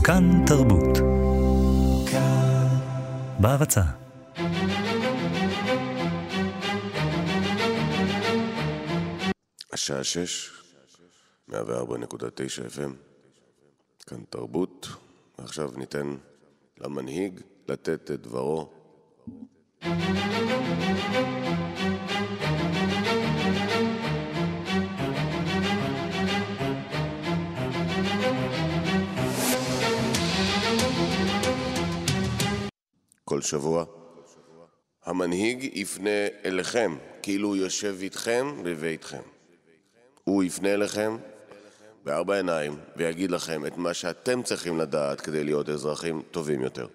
כאן תרבות. בהרצה. השעה 6, 104.9 FM, כאן תרבות. ועכשיו ניתן למנהיג לתת את דברו. כל שבוע המנהיג יפנה אליכם כאילו הוא יושב איתכם בביתכם. הוא יפנה אליכם בארבע עיניים ויגיד לכם את מה שאתם צריכים לדעת כדי להיות אזרחים טובים יותר.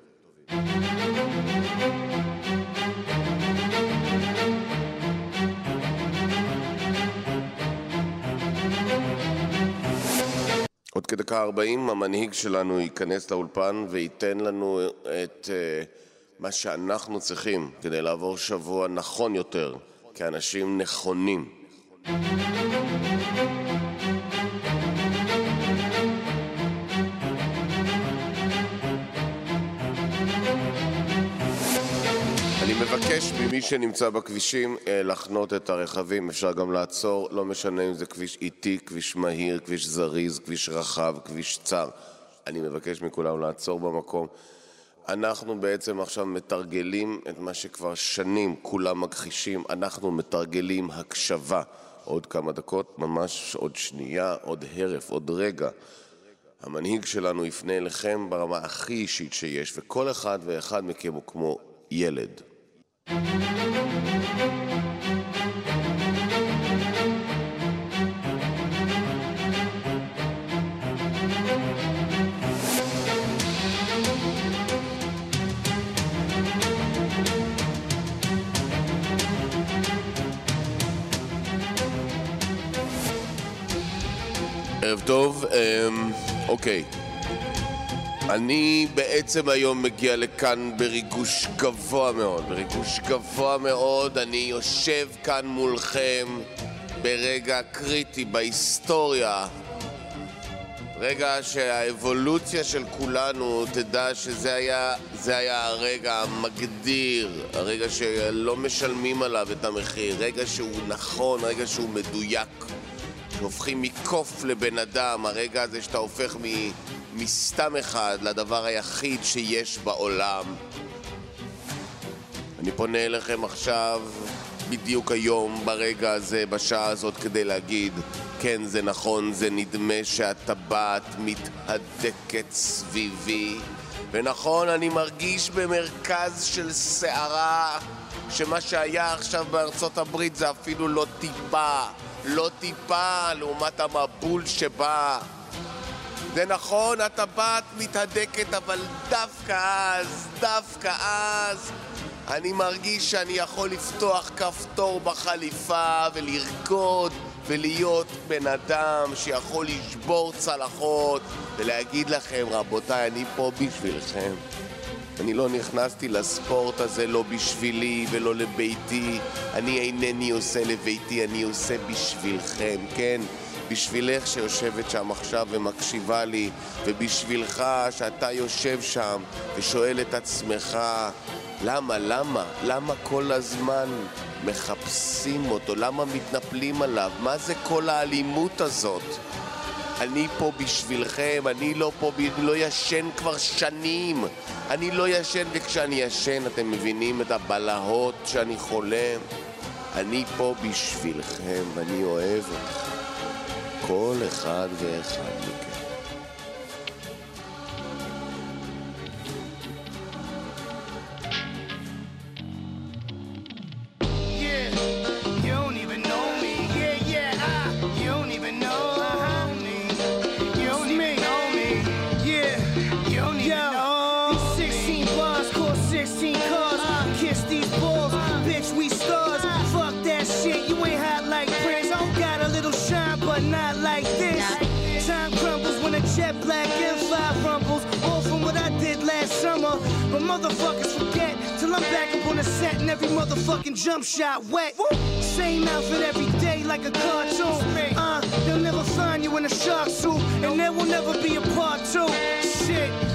עוד כדקה 40 המנהיג שלנו ייכנס לאולפן וייתן לנו את מה שאנחנו צריכים כדי לעבור שבוע נכון יותר כאנשים נכונים. אני מבקש ממי שנמצא בכבישים לחנות את הרכבים. אפשר גם לעצור, לא משנה אם זה כביש איטי, כביש מהיר, כביש זריז, כביש רחב, כביש צר. אני מבקש מכולם לעצור במקום. אנחנו בעצם עכשיו מתרגלים את מה שכבר שנים כולם מכחישים. אנחנו מתרגלים הקשבה. עוד כמה דקות, ממש עוד שנייה, עוד הרף, עוד רגע. המנהיג שלנו יפנה אליכם ברמה הכי אישית שיש, וכל אחד ואחד מכם הוא כמו ילד. ערב טוב, אוקיי. אני בעצם היום מגיע לכאן בריגוש גבוה מאוד, אני יושב כאן מולכם ברגע קריטי בהיסטוריה, רגע שהאבולוציה של כולנו תדע שזה היה הרגע המגדיר, הרגע שלא משלמים עליו את המחיר, רגע שהוא נכון, רגע שהוא מדויק, שהופכים מקוף לבן אדם, הרגע הזה שאתה הופך מסתם אחד לדבר היחיד שיש בעולם. אני פונה אליכם עכשיו, בדיוק היום, ברגע הזה, בשעה הזאת, כדי להגיד, כן, זה נכון, זה נדמה שהטבעת מתהדקת סביבי. ונכון, אני מרגיש במרכז של שערה, שמה שהיה עכשיו בארצות הברית זה אפילו לא טיפה לעומת המבול שבא. זה נכון, הטבעת מתהדקת, אבל דווקא אז אני מרגיש שאני יכול לפתוח כפתור בחליפה ולרקוד ולהיות בן אדם שיכול לשבור צלחות ולהגיד לכם, רבותיי, אני פה בשבילכם. אני לא נכנסתי לספורט הזה לא בשבילי ולא לביתי. אני אינני עושה לביתי, אני עושה בשבילכם, כן? בשבילך שיושבת שם עכשיו ומקשיבה לי, ובשבילך שאתה יושב שם ושואל את עצמך, למה כל הזמן מחפשים אותו? למה מתנפלים עליו? מה זה כל האלימות הזאת? אני פה בשבילכם, אני לא ישן כבר שנים. אני לא ישן, וכשאני ישן אתם מבינים את הבלהות שאני חולם. אני פה בשבילכם ואני אוהב אתכם, כל אחד ואחד מכם. Not like this. Time crumbles when a jet black M5 rumbles. All from what I did last summer. But motherfuckers forget till I'm back up on the set and every motherfucking jump shot wet. Same outfit every day like a cartoon. They'll never find you in a shark suit, and there will never be a part two. Shit.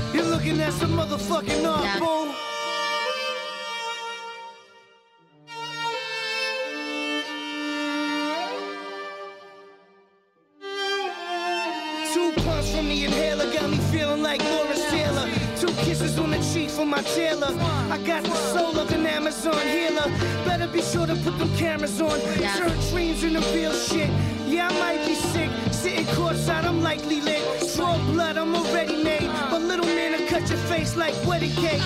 that's a motherfucking art, boo. Two puffs from the inhaler got me feeling like Lawrence Taylor. Two kisses on the cheek from my tailor. I got the soul of an Amazon healer. Better be sure to put them cameras on. Turn dreams into real shit. Yeah, I might be sick. Sitting courtside, I'm likely lit. Draw blood, I'm already made. But little man will cut your face like wedding cake.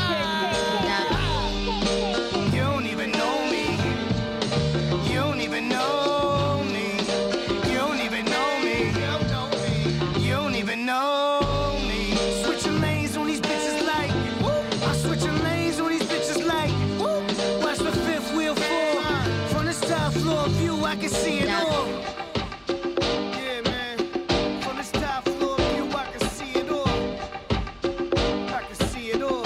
You don't even know me. You don't even know me. You don't even know me. You don't even know me. Switching lanes on these bitches like I'm switching lanes on these bitches like watch the fifth wheel fall. From this top floor view, I can see it all. Yeah, man. From this top floor view, I can see it all. I can see it all.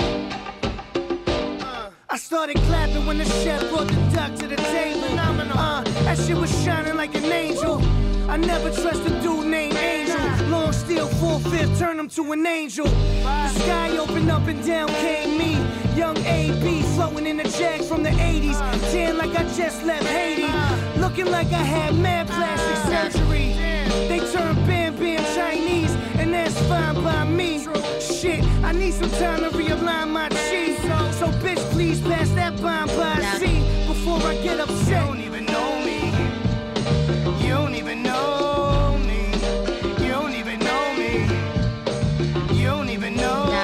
I started clapping when the chef brought the duck to the table. That shit was shining like an angel. I never trust a dude named Angel. Long steel 4/5, turn him to an angel. The sky opened up and down came me. Young AB floating in a jag from the 80s. Tan like I just left Haiti. Looking like I had mad plastic surgery. They turn Bam Bam Chinese, and that's fine by me. Shit, I need some time to realign my cheese. So bitch, please pass that bomb by C before I get upset. You don't even know me. You don't even know me. You don't even know me. You don't even know me.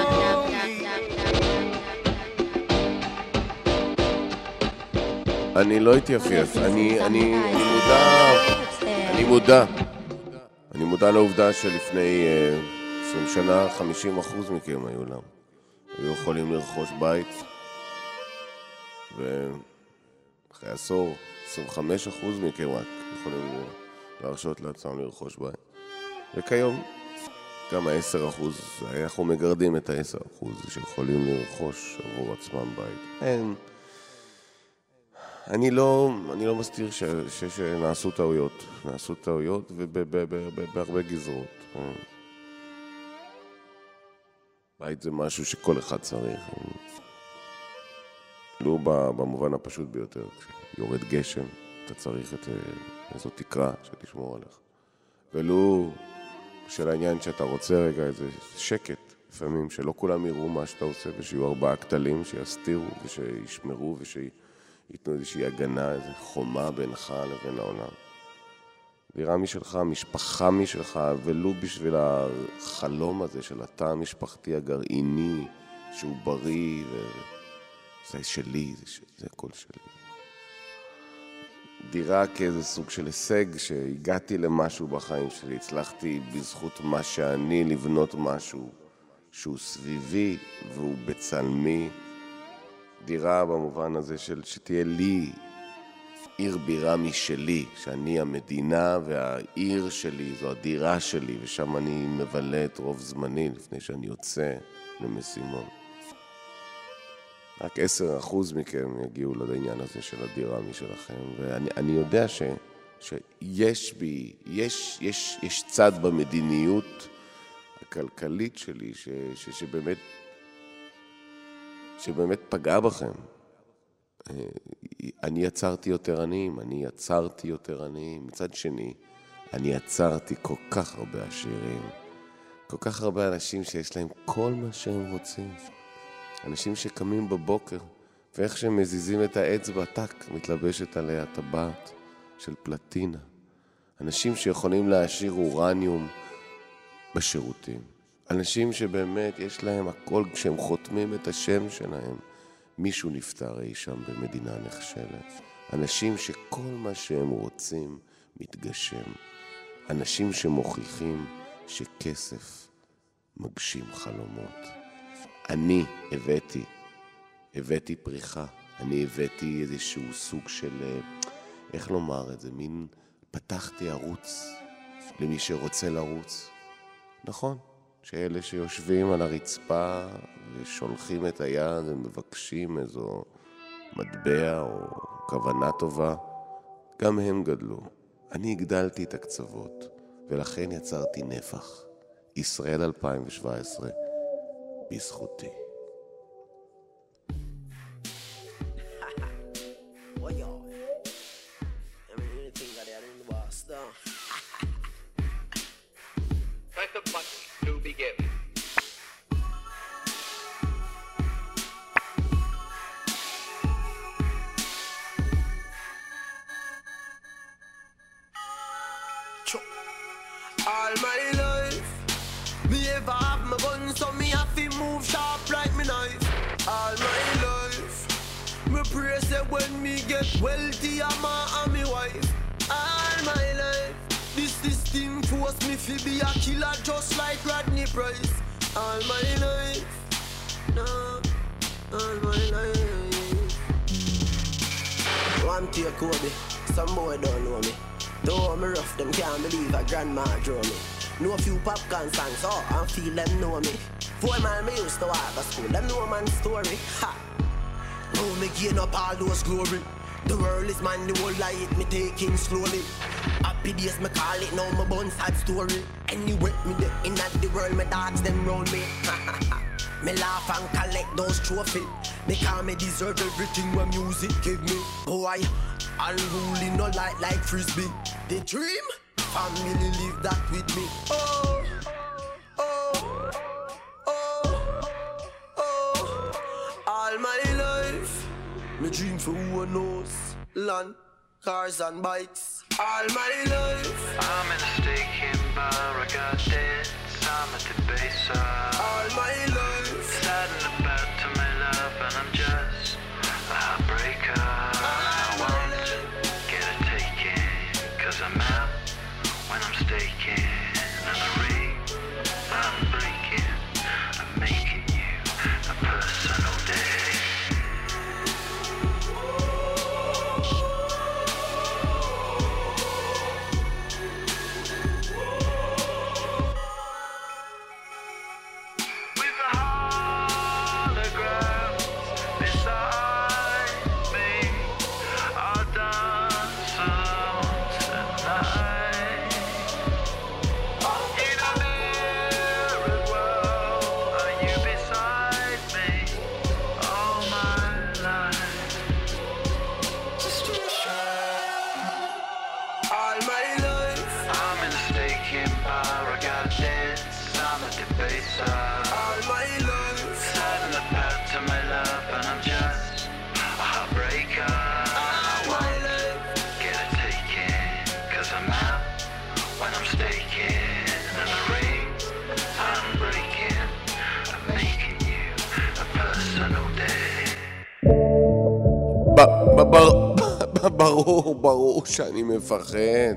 אני לא אתייפייף, אני מודע לעובדה שלפני 20 שנה 50% מכם היו יכולים לרכוש בית, ואחרי עשור 25% מכם רק יכולים להרשות לעצמם לרכוש בית. וכיום גם ה-10%, אנחנו מגרדים את ה-10% שיכולים לרכוש עבור עצמם בית. אני לא מסתיר שנעשו טעויות ובהרבה גזרות. בית זה משהו שכל אחד צריך. לא במובן הפשוט ביותר, כשיורד גשם, אתה צריך איזו תקרה שתשמור עליך. ולא של העניין שאתה רוצה רגע איזה שקט, לפעמים שלא כולם יראו מה שאתה עושה, ושיהיו 4 כתלים שיסתירו ושישמרו ייתנו איזושהי הגנה, איזו חומה בינך לבין העולם. דירה משלך, משפחה משלך, ולו בשביל החלום הזה של התא המשפחתי הגרעיני, שהוא בריא, וזה שלי, זה הכל שלי. דירה כאיזה סוג של הישג, שהגעתי למשהו בחיים שלי, הצלחתי בזכות מה שאני לבנות משהו שהוא סביבי והוא בצלמי. דירה במובן הזה של שתהיה לי עיר בירה משלי, שאני המדינה והעיר שלי, זו הדירה שלי, ושם אני מבלה את רוב זמני לפני שאני יוצא למשימות. רק 10% מכם יגיעו לעניין הזה של הדירה משלכם, ואני יודע שיש בי, יש צד במדיניות הכלכלית שלי שבאמת פגע בכם. אני יצרתי יותר עניים, מצד שני, אני יצרתי כל כך הרבה עשירים, כל כך הרבה אנשים שיש להם כל מה שהם רוצים. אנשים שקמים בבוקר, ואיך שהם מזיזים את האצבע, טק, מתלבשת עליה טבעת של פלטינה. אנשים שיכולים להשאיר אורניום בשירותים. אנשים שבאמת יש להם הכל, כשהם חותמים את השם שלהם, מישהו נפטר אי שם במדינה נחשלת. אנשים שכל מה שהם רוצים מתגשם. אנשים שמוכיחים שכסף מגשים חלומות. אני הבאתי פריחה. אני הבאתי איזשהו סוג של, איך לומר את זה, מין פתחתי ערוץ למי שרוצה לרוץ. נכון, שאלה שיושבים על הרצפה ושולחים את היד ומבקשים איזו מטבע או כוונה טובה, גם הם גדלו. אני הגדלתי את הקצוות, ולכן יצרתי נפח. ישראל 2017, בזכותי. All my life, me ever have my gun, so me have to move sharp like me knife. All my life, me pray say when me get wealthy, I'm and me wife. All my life, this thing force me to be a killer just like Rodney Price. All my life, no, all my life. One tear Kobe, some boy don't know me. Though I'm rough, them can't believe a grandma drew me. Know a few popcorn songs, oh, I feel them know me. 4 mile me used to have a school, them know man's story. Ha! Now me gain up all those glory. The world is mine, the whole life me taking slowly. Happy days me call it, now my bun sad story. Anyway, me the in at the world, my dogs them round me. Me laugh and collect those trophies, because me deserve everything when music give me. Boy, unruly no like frisbee. The dream, family live that with me. Oh, oh, oh, oh. All my life, me dream for who knows. Land, cars and bikes. All my life, I'm in a staking bar, I got debts, I'm at the base. all my life, Sad and about to my love, and I'm just a heartbreaker. I won't get a taking, cause I'm out when I'm staking. And the ring I'm breaking, I'm making you a personal day. With a hologram beside me, I'll dance alone tonight. In a mirrored world, are you beside me all my life? all my life, I'm in a staking bar, I got debts, I'm a debaser. all my life, Sad and about to my love, and I'm just a heartbreaker. I won't get a taking, cause I'm out when I'm staking. And the rings I'm breaking, I'm making you a personal day. ברור שאני מפחד.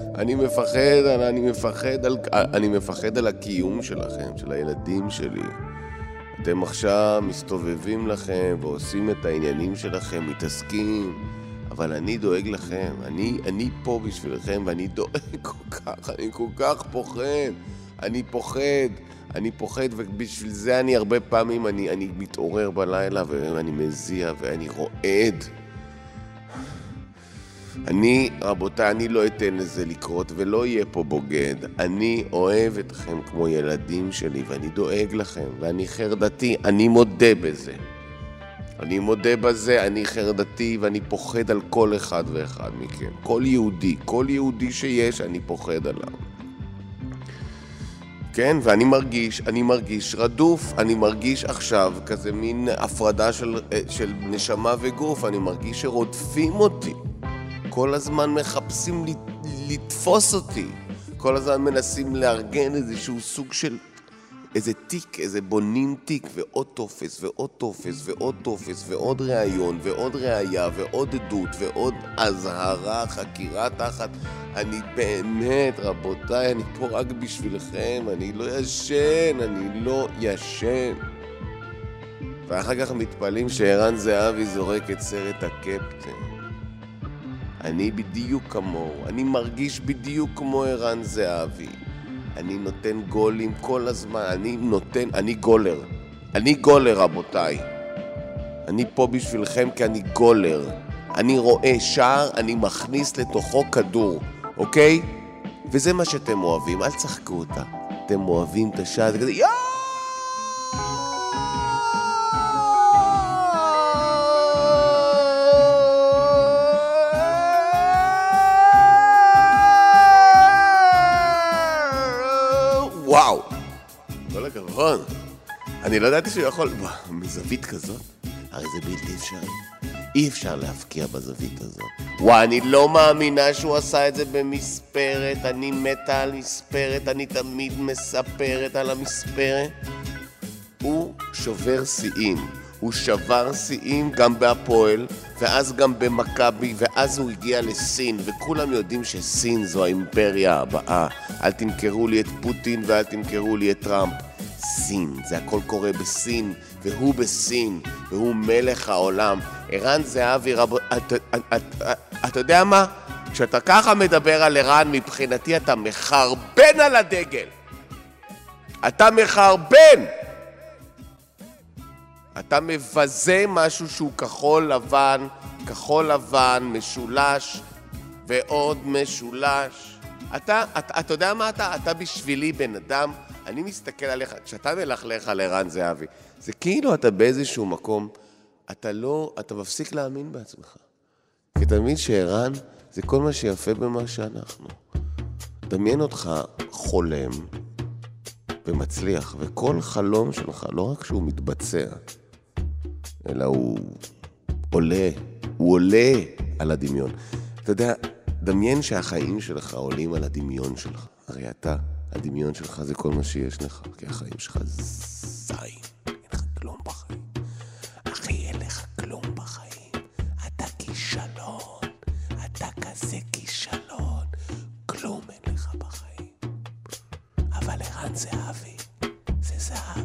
אני מפחד על הקיום שלכם, של הילדים שלי. אתם עכשיו מסתובבים לכם ועושים את העניינים שלכם, מתעסקים, אבל אני דואג לכם. אני פה בשבילכם ואני דואג אני כל כך פוחד. אני פוחד, ובשביל זה אני הרבה פעמים אני מתעורר בלילה ואני מזיע ואני רועד. רבותיי, אני לא אתן לזה לקרות ולא יהיה פה בוגד. אני אוהב אתכם כמו ילדים שלי ואני דואג לכם ואני חרדתי, אני מודה בזה. אני חרדתי ואני פוחד על כל אחד ואחד מכם. כל יהודי שיש אני פוחד עליו. כן, ואני מרגיש רדוף, אני מרגיש עכשיו כזה מין הפרדה של נשמה וגוף, אני מרגיש שרודפים אותי. כל הזמן מחפשים לתפוס אותי. כל הזמן מנסים לארגן איזשהו סוג של איזה תיק, איזה בונים תיק, ועוד טופס, ועוד טופס, ועוד טופס, ועוד ראיון, ועוד ראייה, ועוד עדות, ועוד הזהרה, חקירה תחת. אני באמת, רבותיי, אני פה רק בשבילכם, אני לא ישן. ואחר כך מתפעלים שערן זהבי זורק את סרט הקפטן. אני בדיוק כמוהו, אני מרגיש בדיוק כמו ערן זהבי. אני נותן גולים כל הזמן, אני גולר רבותיי. אני פה בשבילכם כי אני גולר. אני רואה שער, אני מכניס לתוכו כדור, אוקיי? וזה מה שאתם אוהבים, אל תשחקו אותה. אתם אוהבים את השער, זה כזה יואו! הכבוד. אני לא ידעתי שהוא יכול... מזווית כזאת? הרי זה בלתי אפשרי. אי אפשר להפקיע בזווית הזאת. אני לא מאמינה שהוא עשה את זה במספרת. אני מתה על מספרת, אני תמיד מספרת על המספרת. הוא שובר שיאים. הוא שבר שיאים גם בהפועל, ואז גם במכבי, ואז הוא הגיע לסין, וכולם יודעים שסין זו האימפריה הבאה. אל תמכרו לי את פוטין ואל תמכרו לי את טראמפ. סין, זה הכל קורה בסין, והוא בסין, והוא מלך העולם. ערן זהבי, אתה יודע מה? כשאתה ככה מדבר על ערן, מבחינתי אתה מחרבן על הדגל. אתה מחרבן! אתה מבזה משהו שהוא כחול לבן, משולש ועוד משולש. אתה יודע מה אתה? אתה בשבילי בן אדם, אני מסתכל עליך, כשאתה מלכלך על ערן זהבי, זה כאילו אתה באיזשהו מקום, אתה מפסיק להאמין בעצמך. כי אתה מבין שערן זה כל מה שיפה במה שאנחנו. דמיין אותך חולם ומצליח, וכל חלום שלך, לא רק שהוא מתבצע, אלא הוא עולה על הדמיון. אתה יודע, דמיין שהחיים שלך עולים על הדמיון שלך. הרי הדמיון שלך זה כל מה שיש לך, כי החיים שלך זין. אין לך כלום בחיים. אחי, אין לך כלום בחיים. אתה כישלון. אתה כזה כישלון. כלום אין לך בחיים. אבל ערן זהבי, זה זהב.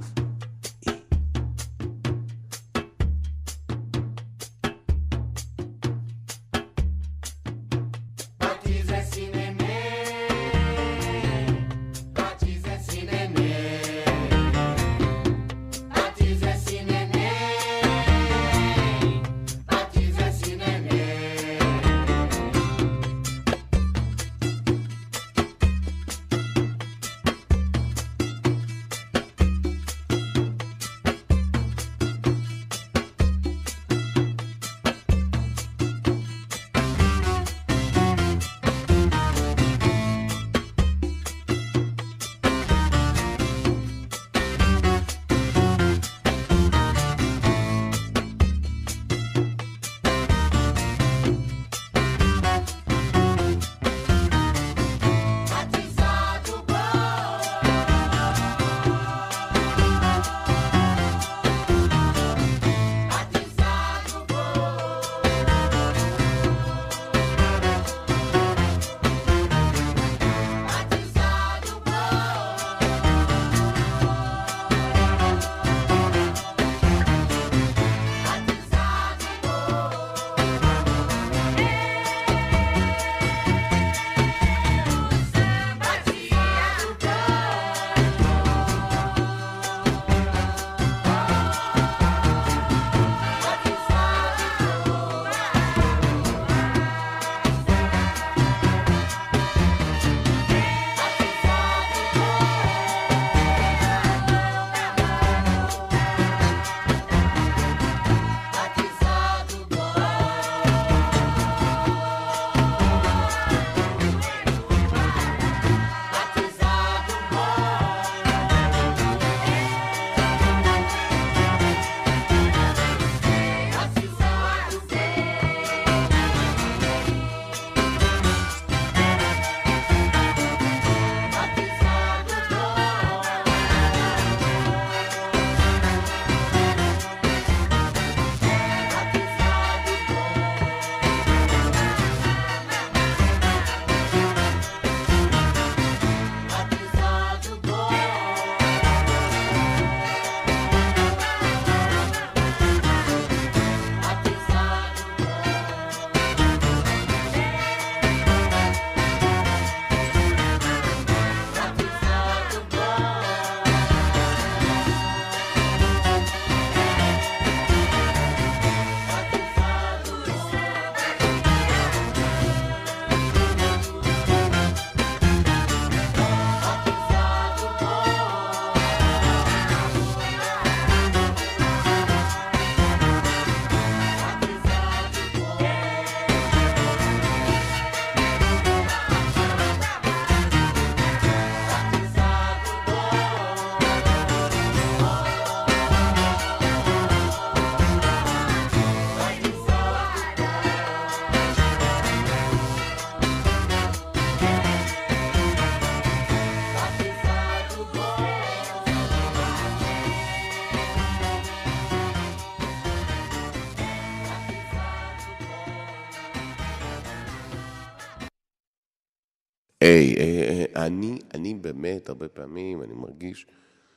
אני באמת, הרבה פעמים, אני מרגיש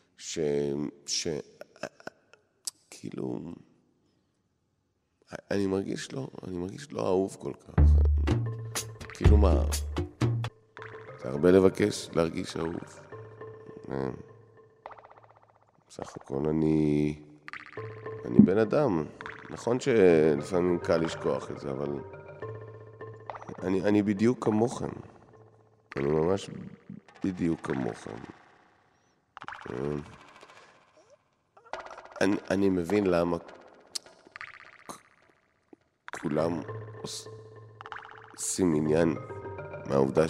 כאילו, אני מרגיש לא אהוב כל כך. כאילו מה? זה הרבה לבקש להרגיש אהוב. בסך הכל אני בן אדם. נכון שלפעמים קל לשכוח את זה, אבל אני בדיוק כמוכם. אני ממש בדיוק כמוכם. אני מבין למה כולם עושים עניין מהעובדה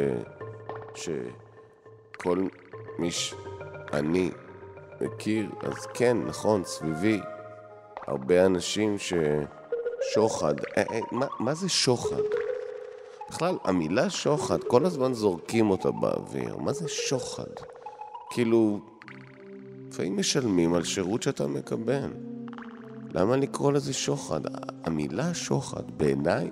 שכל מי שאני מכיר, אז כן, נכון, סביבי, הרבה אנשים ששוחד, מה זה שוחד? בכלל, המילה שוחד, כל הזמן זורקים אותה באוויר. מה זה שוחד? כאילו, לפעמים משלמים על שירות שאתה מקבל. למה לקרוא לזה שוחד? המילה שוחד, בעיניי,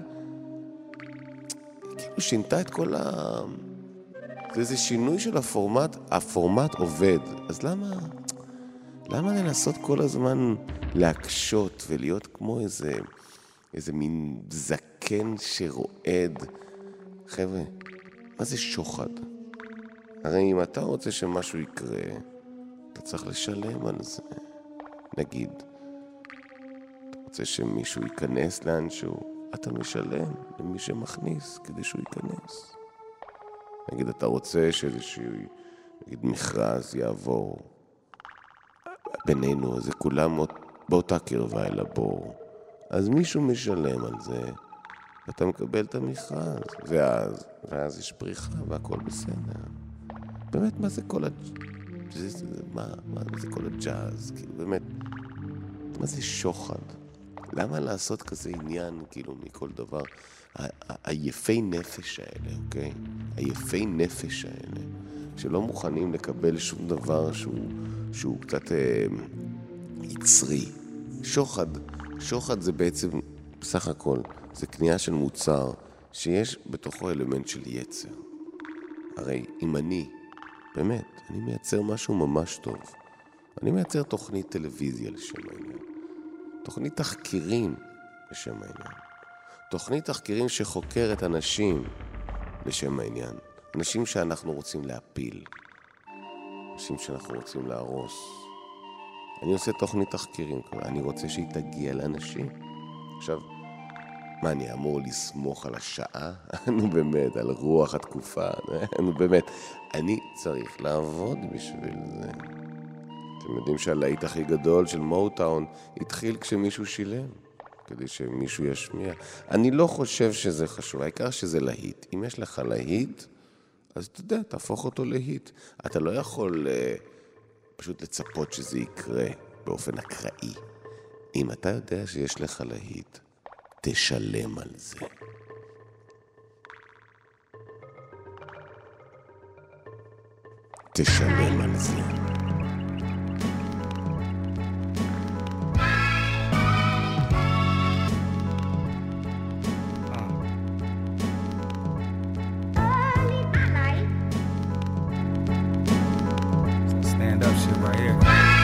כאילו שינתה את כל זה איזה שינוי של הפורמט עובד. אז למה לנסות כל הזמן להקשות ולהיות כמו איזה מין זקן שרועד? חבר'ה, מה זה שוחד? הרי אם אתה רוצה שמשהו יקרה, אתה צריך לשלם על זה. נגיד, אתה רוצה שמישהו ייכנס לאנשהו, אתה משלם למי שמכניס כדי שהוא ייכנס. נגיד, אתה רוצה שאיזשהו, נגיד, מכרז יעבור בינינו, זה כולם באותה קרבה אל הבור. אז מישהו משלם על זה, ואתה מקבל את המכרז, ואז יש פריחה והכל בסדר. באמת, מה זה כל מה זה כל הג'אז? כאילו, באמת, מה זה שוחד? למה לעשות כזה עניין, כאילו, מכל דבר? היפי נפש האלה, אוקיי? היפי נפש האלה, שלא מוכנים לקבל שום דבר שהוא קצת יצרי. שוחד זה בעצם, בסך הכל, זה קנייה של מוצר שיש בתוכו אלמנט של יצר. הרי אם אני מייצר משהו ממש טוב. אני מייצר תוכנית טלוויזיה לשם העניין. תוכנית תחקירים לשם העניין. תוכנית תחקירים שחוקרת אנשים לשם העניין. אנשים שאנחנו רוצים להפיל. אנשים שאנחנו רוצים להרוס. אני עושה תוכנית תחקירים. אני רוצה שהיא תגיע לאנשים. עכשיו, מה, אני אמור לסמוך על השעה? נו באמת, על רוח התקופה. נו באמת, אני צריך לעבוד בשביל זה. אתם יודעים שהלהיט הכי גדול של מוטאון התחיל כשמישהו שילם, כדי שמישהו ישמיע. אני לא חושב שזה חשוב, העיקר שזה להיט. אם יש לך להיט, אז אתה יודע, תהפוך אותו להיט. אתה לא יכול פשוט לצפות שזה יקרה באופן אקראי. אם אתה יודע שיש לך להיט, תשלם על זה. תשלם על זה. Stand up shit right here.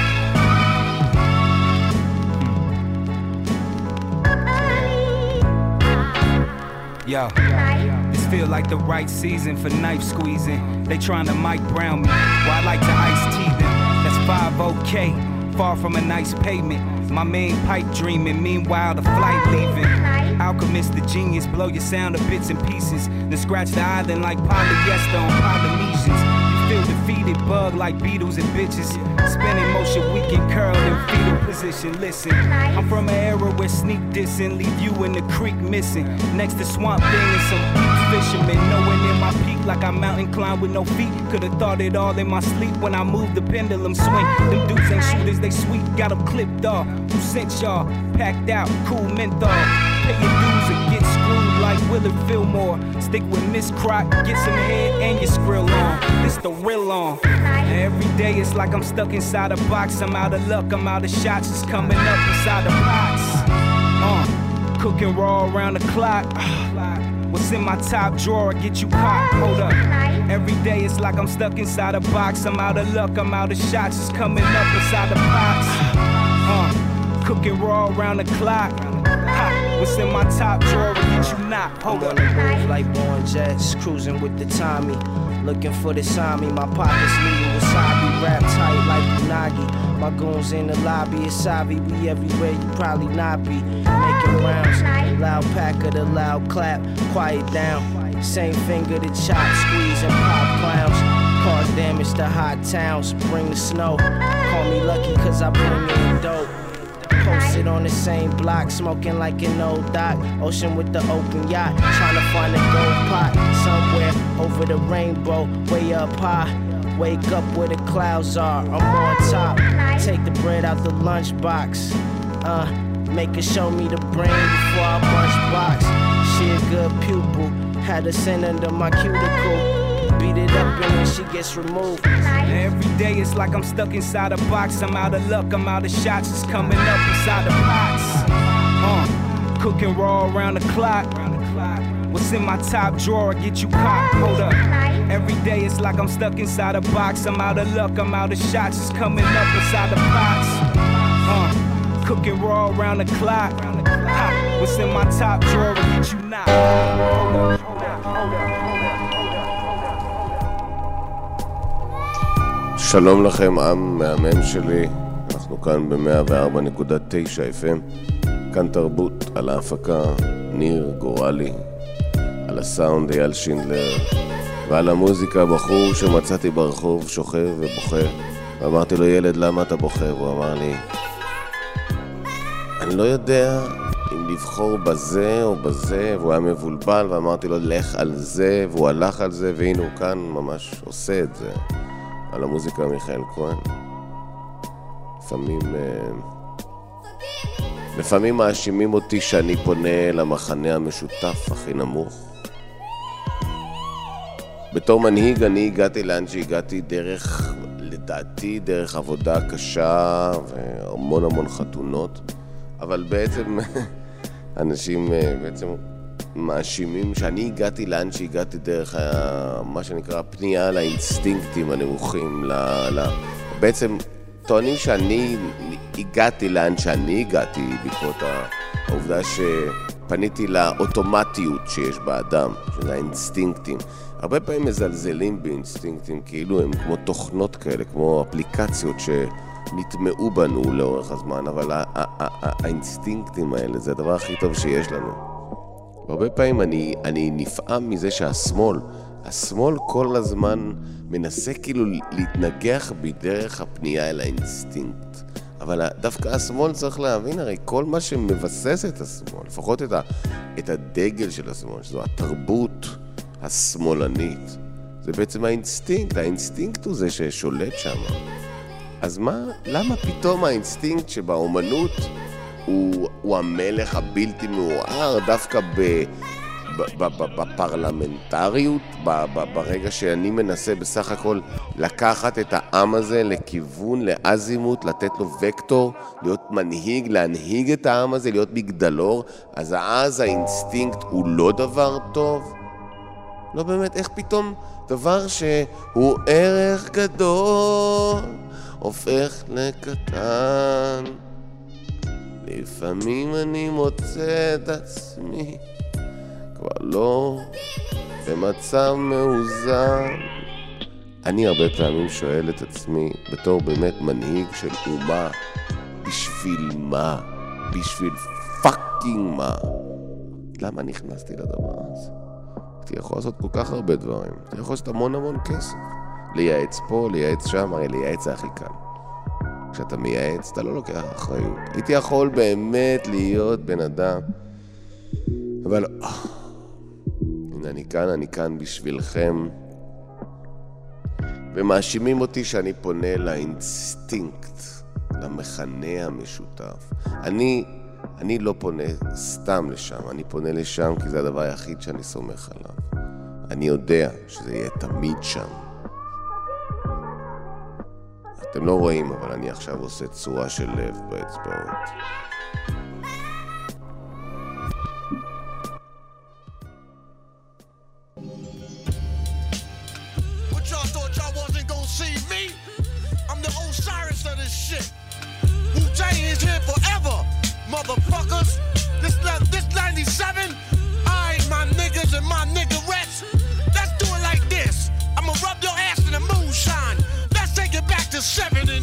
Yo, this feel like the right season for knife squeezing. They trying to Mike Brown me, well I like to ice tea them. That's 5-0K, far from a nice pavement. My main pipe dreaming, meanwhile the flight leaving. Alchemist the genius, blow your sound to bits and pieces. Then scratch the island like polyester on Polynesians. Feel defeated, bug like beetles and bitches. Spinning motion, weak and curled in fetal position. Listen, I'm from an era where sneak dissing leave you in the creek missing. Next to swamp thing and some deep fishermen. Knowing in my peak like I mountain climb with no feet. Could've thought it all in my sleep when I moved the pendulum swing. Them dudes ain't shooters, they sweet, got them clipped off. Who sent y'all? Packed out, cool menthol. Pay your dues or get screwed like Willard Fillmore. Stick with Miss Croc, get some head and your skrill on. This the real on. Every day it's like I'm stuck inside a box. I'm out of luck, I'm out of shots. It's coming up inside the box. Cooking raw around the clock. What's in my top drawer, get you caught, hold up. Every day it's like I'm stuck inside a box. I'm out of luck, I'm out of shots. It's coming up inside the box. Cooking raw around the clock. What's in my top drawer, get you not, hold up. I'm on the move like Born Jets, cruising with the Tommy. Looking for the Sami, my pockets leading wasabi. Rap tight like Unagi. My goons in the lobby, it's Savi. We everywhere, you probably not be. Making rounds, loud pack of the loud clap. Quiet down, same finger to chop, squeeze and pop clowns. Cause damage to hot towns, bring the snow. Call me lucky cause I bring in dope. Posted on the same block, smoking like an old dock. Ocean with the open yacht, trying to find a gold pot. Somewhere over the rainbow, way up high. Wake up where the clouds are, I'm on top. Take the bread out the lunchbox. Make her show me the brain before I bunch box. She a good pupil, had her sent under my cuticle. Beat it up and then she gets removed. Every day it's like I'm stuck inside a box. I'm out of luck, I'm out of shots. It's coming up inside the box. Cooking raw around the clock. What's in my top drawer, get you caught, hold up. Every day it's like I'm stuck inside a box. I'm out of luck, I'm out of shots. It's coming up inside the box. Cooking raw around the clock. What's in my top drawer, get you not, hold up. שלום לכם, עם מהמם שלי. אנחנו כאן ב-104.9 FM. כאן תרבות, על ההפקה ניר גורלי, על הסאונד אייל שינדלר, ועל המוזיקה בחור שמצאתי ברחוב שוכב ובוכה. ואמרתי לו, ילד, למה אתה בוכה? והוא אמר לי, אני לא יודע אם לבחור בזה או בזה, והוא היה מבולבל, ואמרתי לו, לך על זה, והוא הלך על זה, והנה הוא כאן ממש עושה את זה. על המוזיקה מיכאל כהן. לפעמים מאשימים אותי שאני פונה למחנה המשותף הכי נמוך. בתור מנהיג אני הגעתי לאן שהגעתי דרך, לדעתי, דרך עבודה קשה והמון המון חתונות, אבל בעצם אנשים בעצם מאשימים שאני הגעתי לאן שהגעתי דרך מה שנקרא פנייה לאינסטינקטים הנמוכים. בעצם טוענים שאני הגעתי לאן שאני הגעתי בעקבות העובדה שפניתי לאוטומטיות שיש באדם, שזה האינסטינקטים. הרבה פעמים מזלזלים באינסטינקטים כאילו הם כמו תוכנות כאלה, כמו אפליקציות שנטמעו בנו לאורך הזמן, אבל האינסטינקטים האלה זה הדבר הכי טוב שיש לנו. הרבה פעמים אני נפעם מזה השמאל כל הזמן מנסה כאילו להתנגח בדרך הפנייה אל האינסטינקט. אבל דווקא השמאל צריך להבין, הרי כל מה שמבסס את השמאל, לפחות את הדגל של השמאל, שזו התרבות השמאלנית, זה בעצם האינסטינקט. האינסטינקט הוא זה ששולט שם. אז למה פתאום האינסטינקט שבאומנות הוא המלך הבלתי מעורער דווקא בפרלמנטריות, ברגע שאני מנסה בסך הכל לקחת את העם הזה לכיוון, לאזימות, לתת לו וקטור, להיות מנהיג, להנהיג את העם הזה, להיות מגדלור, אז האינסטינקט הוא לא דבר טוב? לא באמת, איך פתאום דבר שהוא ערך גדול הופך לקטן? לפעמים אני מוצא את עצמי כבר לא במצב מאוזן. אני הרבה פעמים שואל את עצמי בתור באמת מנהיג של אומה, בשביל מה? בשביל פאקינג מה? למה נכנסתי לדבר הזה? הייתי יכול לעשות כל כך הרבה דברים, הייתי יכול לעשות המון כסף, לייעץ פה, לייעץ שם, הרי לייעץ זה הכי קל. כשאתה מייעץ, אתה לא לוקח אחריות. הייתי יכול באמת להיות בן אדם, אבל הנה אני כאן בשבילכם, ומאשימים אותי שאני פונה לאינסטינקט, למחנה המשותף. אני לא פונה סתם לשם, אני פונה לשם כי זה הדבר היחיד שאני סומך עליו. אני יודע שזה יהיה תמיד שם. אתם לא רואים, אבל אני עכשיו עושה צורה של לב באצבעות. motherfuckers. This 97. Alright, my niggas and my niggerettes. Let's do it like this. I'ma rub your ass in the moonshine. Let's take it back to 79.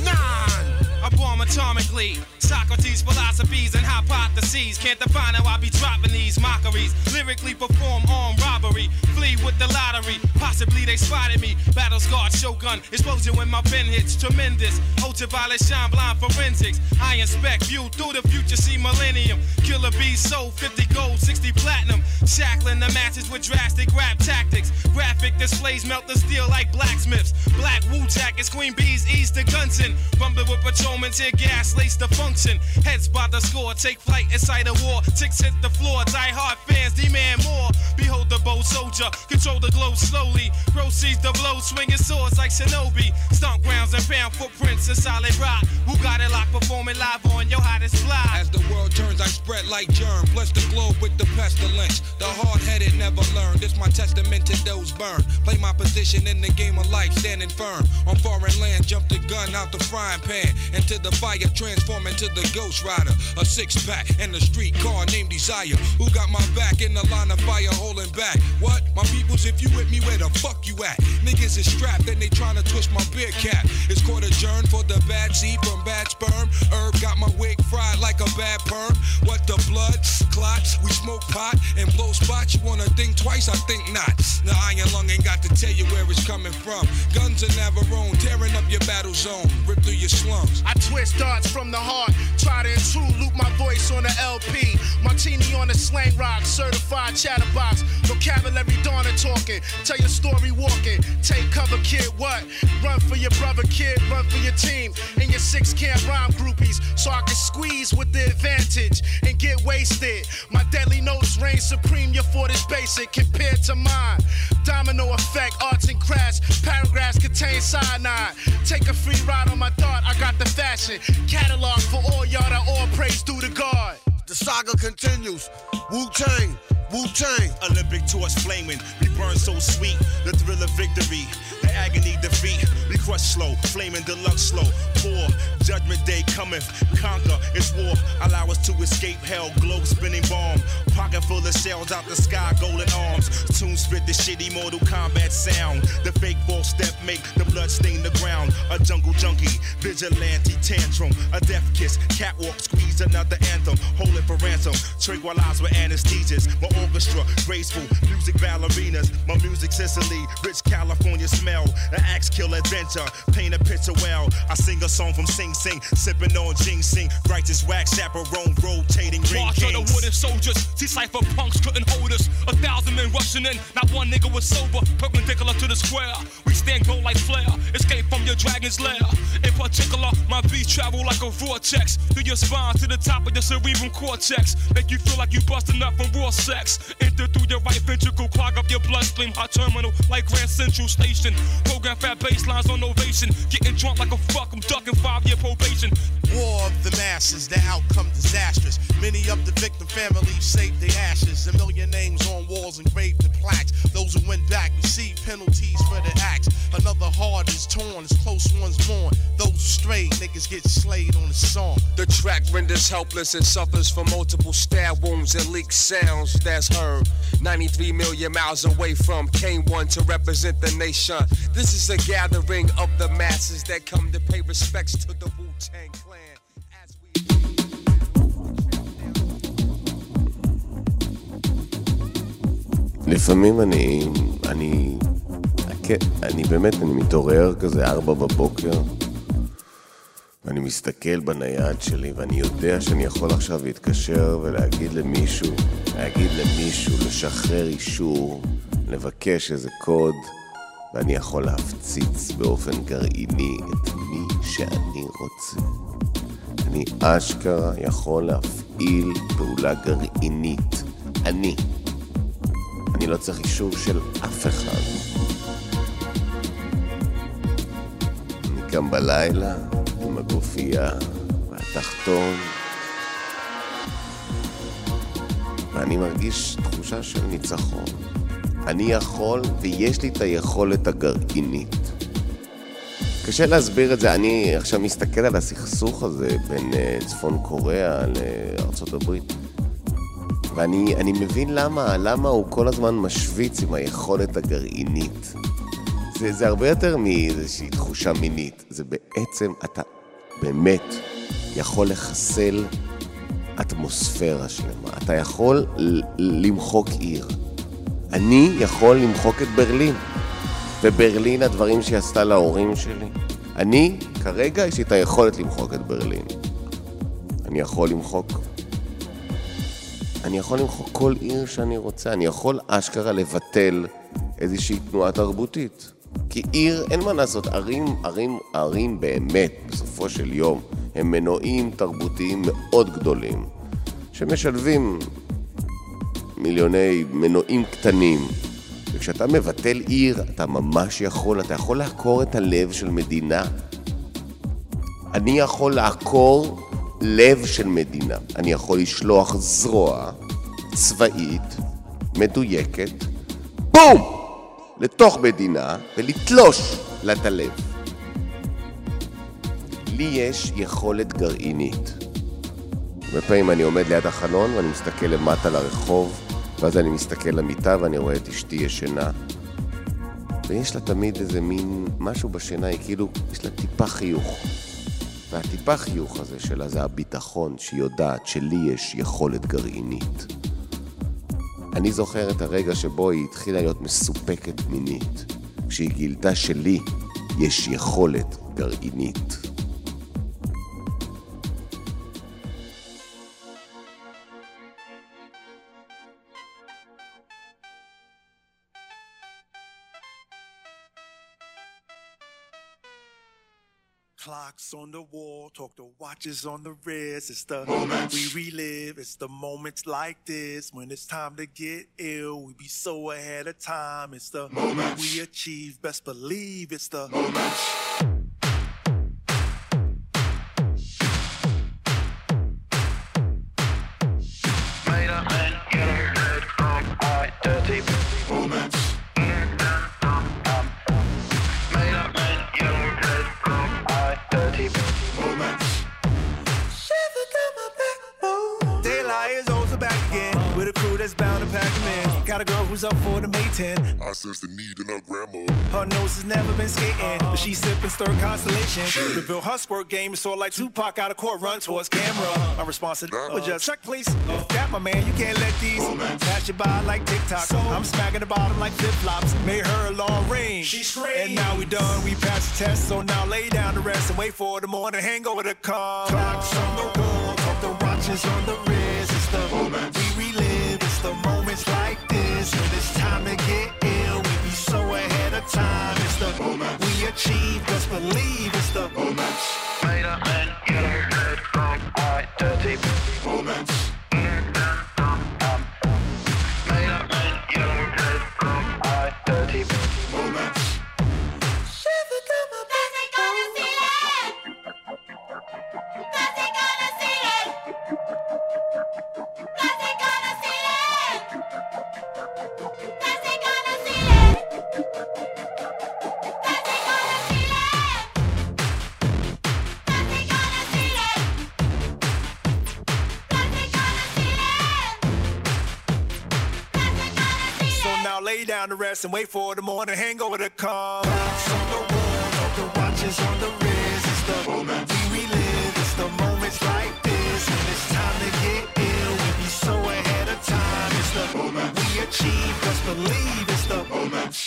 I bomb atomically. Socrates' philosophies and hypotheses can't define how I be dropping these mockeries. Lyrically perform armed robbery, flee with the lottery. Possibly they spotted me. Battle scarred shogun, explosion when my pen hits. Tremendous, ultraviolet shine blind forensics. I inspect, view through the future, see millennium. Killer bees sold 50 gold, 60 platinum. Shackling the masses with drastic rap tactics. Graphic displays melt the steel like blacksmiths. Black Wu jackets, Queen Bees ease the Gunson. Rumbling with patrolmen, tear gas, lace the function. Heads by the score, take flight inside a war. Ticks hit the floor, die hard fans demand more. Behold the bold soldier, control the globe slowly. Proceeds the blow, swinging swords like Shinobi. Stomp grounds and pound footprints in solid rock. Who got it locked, performing live on your hottest fly. As the world turns, I spread like germ. Bless the globe with the pestilence. The hard-headed never learn. This my testament to those burned. Play my position in the game of life, standing firm. On foreign land, jump the gun out the frying pan. Into the fire, transform into the Ghost Rider. A six-pack and a street car named Desire. Who got my back in the line of fire holding back? What? My peoples, if you with me, where the fuck you at? Niggas is strapped and they tryna twist my beer cap. It's court adjourned for the bad seed from bad sperm. Herb got my wig fried like a bad perm. What the blood? Clots? We smoke pot and blow spots. You wanna think twice? I think not. The iron lung ain't got to tell you where it's coming from. Guns are Navarone, tearing up your battle zone. Rip through your slums. I twist darts from the heart. Try to intrude, loop my voice on the LP. Martini on the slang rock, certified chatterbox. Vocabulary Donna talking, tell your story walking. Take cover, kid, what? Run for your brother, kid, run for your team. And your 6 camp rhyme groupies, so I can squeeze with the advantage and get wasted. My deadly notes reign supreme, your fort is basic compared to mine. Domino effect, arts and crafts, paragraphs contain cyanide. Take a free ride on my thought, I got the fashion. Catalog for all y'all that all praise due to God. The saga continues. Wu-Tang, Wu-Tang. Olympic torch flaming, we burn so sweet. The thrill of victory, the agony defeat. We crush slow, flaming deluxe slow. Poor, judgment day cometh, conquer, it's war. Allow us to escape hell, globe spinning bomb. Pocket full of shells out the sky, golden arms. Tune spit the shitty Mortal Kombat sound. The fake false step make the blood stain the ground. A jungle junkie, vigilante tantrum. A death kiss, catwalk squeeze another anthem. Hold it for ransom, tranquilize with anesthesias. My orchestra, graceful, music ballerinas. My music Sicily, rich California smell. An axe kill adventure, paint a picture well. I sing a song from Sing Sing, sipping on ginseng. Righteous wax chaperone, rotating ring March kings. of the wooden soldiers, see cypher punks couldn't hold us. 1,000 men rushing in, not one nigga was sober. Perpendicular to the square, we stand gold like flare. Escape from your dragon's lair. In particular, my beats travel like a vortex through your spine to the top of your cerebral cortex. Make you feel like you busting up from raw sex. Enter through your right ventricle, clog up your bloodstream. Hot terminal like Grand Central Station. Program fat baselines on ovation. Getting drunk like a fuck, I'm ducking 5-year probation. War of the masses, the outcome disastrous. Many of the victim families saved their ashes. A million names on walls engraved in plaques. Those who went back receive penalties for their acts. Another heart is torn as close ones mourn. Those strayed niggas get slayed on the song. The track renders helpless and suffers from multiple stab wounds and leaked sounds that's heard. 93 million miles away from K1 to represent the nation. This is a gathering of the masses that come to pay respects to the Wu-Tang Clan. לפעמים אני באמת, אני מתעורר כזה 4 בבוקר ואני מסתכל בנייד שלי ואני יודע שאני יכול עכשיו להתקשר ולהגיד למישהו, לשחרר אישור, לבקש איזה קוד ואני יכול להפציץ באופן גרעיני את מי שאני רוצה. אני אשכרה יכול להפעיל פעולה גרעינית. אני לא צריך אישור של אף אחד. אני קם בלילה עם הגופייה והתחתון ואני מרגיש תחושה של ניצחון. אני יכול ויש לי את היכולת הגרעינית. קשה להסביר את זה. אני עכשיו מסתכל על הסכסוך הזה בין צפון קוריאה לארצות הברית. ואני מבין למה הוא כל הזמן משוויץ עם היכולת הגרעינית. זה הרבה יותר מאיזושהי תחושה מינית. זה בעצם, אתה באמת יכול לחסל אטמוספירה שלמה. אתה יכול למחוק עיר. אני יכול למחוק את ברלין. וברלין, הדברים שהיא עשתה להורים שלי. אני, כרגע, יש לי את היכולת למחוק את ברלין. אני יכול למחוק כל עיר שאני רוצה. אני יכול אשכרה לבטל איזושהי תנועה תרבותית. כי עיר, אין מה לעשות, ערים באמת, בסופו של יום, הם מנועים תרבותיים מאוד גדולים, שמשלבים מיליוני מנועים קטנים. וכשאתה מבטל עיר, אתה ממש אתה יכול לעקור את הלב של מדינה. אני יכול לעקור לב של מדינה. אני יכול לשלוח זרוע צבאית, מדויקת, בום! לתוך מדינה ולתלוש לה את הלב. לי יש יכולת גרעינית. בפעמים אני עומד ליד החלון ואני מסתכל למטה לרחוב, ואז אני מסתכל למיטה ואני רואה את אשתי ישנה. ויש לה תמיד איזה מין משהו בשינה, היא כאילו, יש לה טיפה חיוך. והטיפה חיוך הזה שלה זה הביטחון שהיא יודעת שלי יש יכולת גרעינית. אני זוכר את הרגע שבו היא התחילה להיות מסופקת מינית, כשהיא גילתה שלי יש יכולת גרעינית. Clocks on the wall, talk to watches on the wrist. It's the moments we relive. It's the moments like this when it's time to get ill. We be so ahead of time. It's the moments we achieve. Best believe it's the moments. Made up and yellow, red, wrong, white, dirty moments. That's bound to pack them in. Got a girl who's up for the May 10. I sense the need in her grandma. Her nose has never been skating, but she's sipping stir constellation. Reveal her squirt game is sort of like Tupac out of court, run towards camera. My response to that was just check, please. That my man, you can't let these pass you by like TikTok. I'm smacking the bottom like flip flops. Made her a long range. She's crazy. And now we done, we passed the test. So now lay down to rest and wait for the morning hangover to come. Clocks on the wall, talk the watches on the wrist. It's the moment we relive. It's the moments like this when it's time to get ill. We be so ahead of time. It's the moment we achieve. Just believe it's the moments. Made up and yellow, red, wrong, white, dirty moments. Made up and yellow, red, wrong, white, dirty moments. Shiver down my back. They gonna see it. They gonna see it. They gonna see it. They gonna see it. They gonna see it. They gonna see it. They gonna see it. So now lay down to rest and wait for the morning hangover to come. Clocks on the wall, talk the watches on the wrist. It's the moment we relive. It's the moments like this when it's time to get ill. We be so ahead of time. It's the moment we achieve. Just believe it's the moments.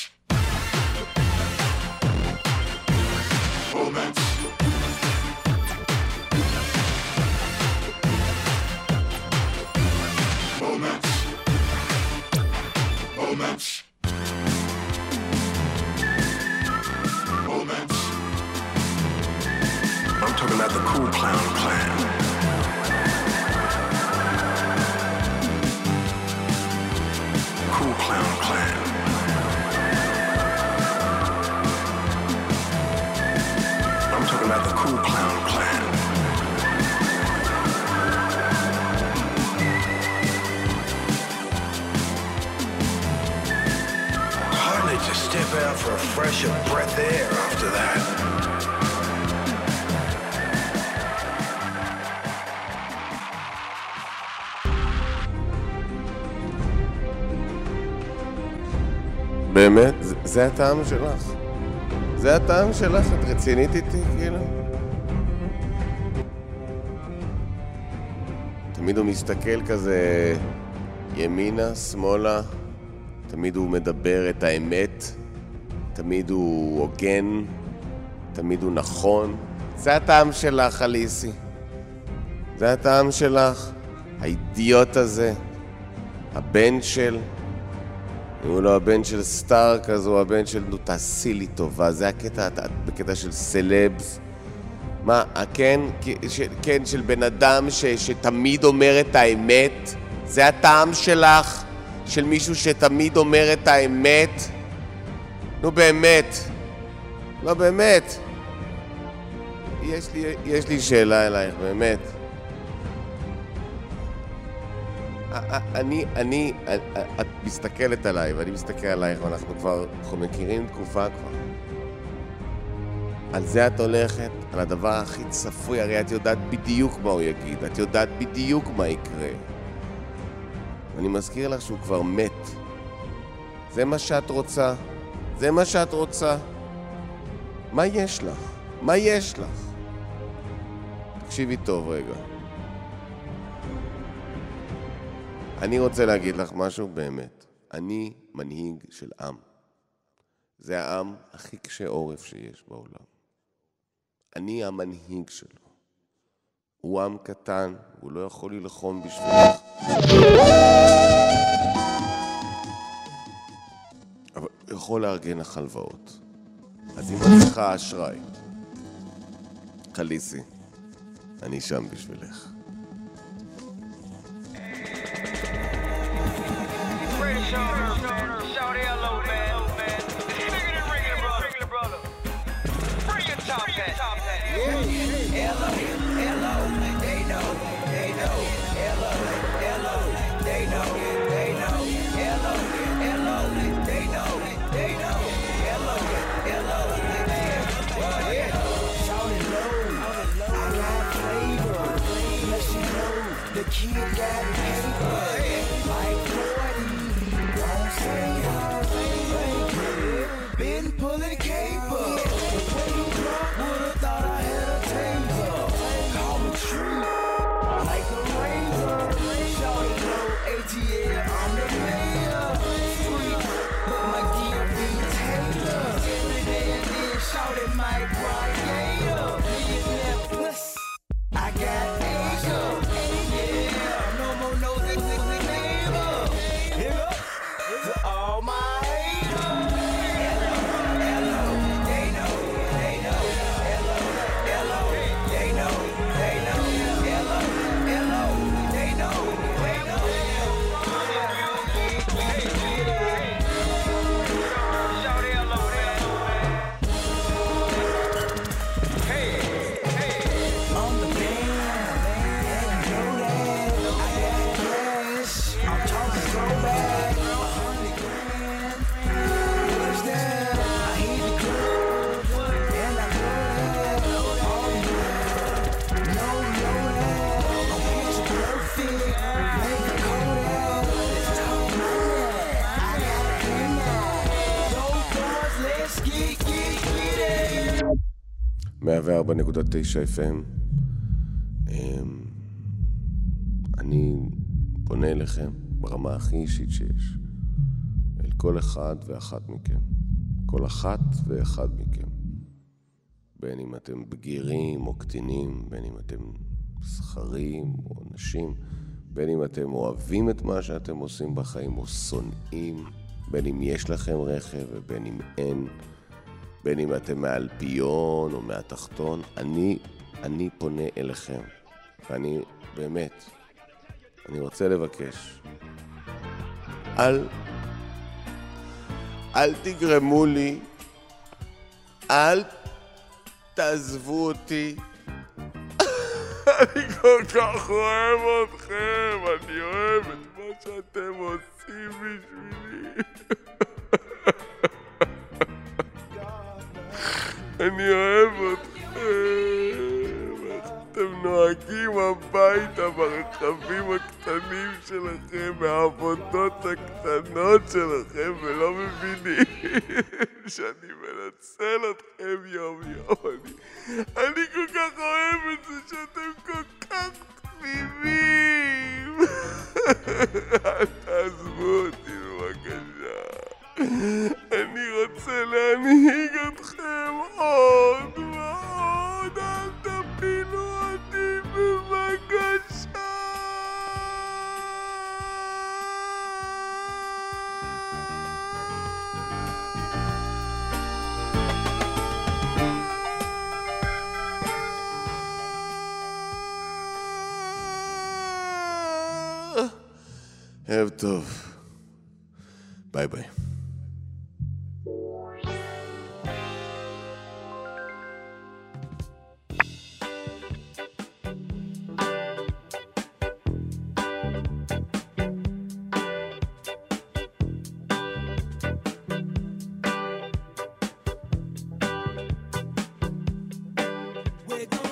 Moments. Moments. Moments. Moments. I'm talking about the Cool Clown Clan. Cool Clown Clan. I'm talking about the Cool Clown Clan. Hardly to step out for a fresh breath of air after that. באמת? זה הטעם שלך? זה הטעם שלך? את רצינית איתי, כאילו? תמיד הוא מסתכל כזה ימינה, שמאלה, תמיד הוא מדבר את האמת, תמיד הוא הוגן, תמיד הוא נכון. זה הטעם שלך, אליסי. זה הטעם שלך. האידיוט הזה, הבן של... אם הוא לא הבן של סטארק, אז הוא הבן של... נו, תעשי לי טובה. זה הקטע, בקטע של סלבס. מה, כן, של בן אדם שתמיד אומר את האמת? זה הטעם שלך? של מישהו שתמיד אומר את האמת? נו באמת. לא באמת. יש לי שאלה אלייך, באמת. את מסתכלת עליי ואני מסתכל עלייך ואנחנו מכירים תקופה כבר. על זה את הולכת, על הדבר הכי צפוי, הרי את יודעת בדיוק מה הוא יגיד, את יודעת בדיוק מה יקרה. ואני מזכיר לך שהוא כבר מת. זה מה שאת רוצה, זה מה שאת רוצה. מה יש לך? מה יש לך? תקשיבי טוב רגע. אני רוצה להגיד לך משהו באמת. אני מנהיג של עם. זה העם הכי קשה עורף שיש בעולם. אני המנהיג שלו. הוא עם קטן, הוא לא יכול ללחום בשבילך. אבל הוא יכול לארגן לך הלוואות. אז אם את צריכה אשראי, חליסי, אני שם בשבילך. The kid got paper, like 40, won't say how they been pulling caper. When you drunk, would've thought I had a taser. Call me true, like a razor. Shawty know ATL, I'm the mayor. Street, but my gear be Taylor. Every day and then shawty Mike Ryan. I got Asia. FM. אני פונה אליכם ברמה הכי אישית שיש, אל כל אחד ואחת מכם, כל אחת ואחד מכם, בין אם אתם בגירים או קטינים, בין אם אתם שכרים או נשים, בין אם אתם אוהבים את מה שאתם עושים בחיים או שונאים, בין אם יש לכם רכב ובין אם אין, בין אם אתם מהאלפיון או מהתחתון. אני פונה אליכם, ואני באמת, אני רוצה לבקש, אל תגרמו לי, אל תעזבו אותי. אני כל כך אוהב אתכם, אני אוהב את מה שאתם עושים בשבילי. אני אוהב אתכם, איך אתם נוהגים הביתה ברכבים הקטנים שלכם, מהעבודות הקטנות שלכם, ולא מבינים שאני מנצל אתכם יום יום. אני כל כך אוהב את זה שאתם כל כך תמימים. אל תעזבו אותי בבקשה. אני רוצה להנהיג אתכם עוד ועוד, אל תפילו אותי בבקשה. ערב טוב. ביי ביי. We're gonna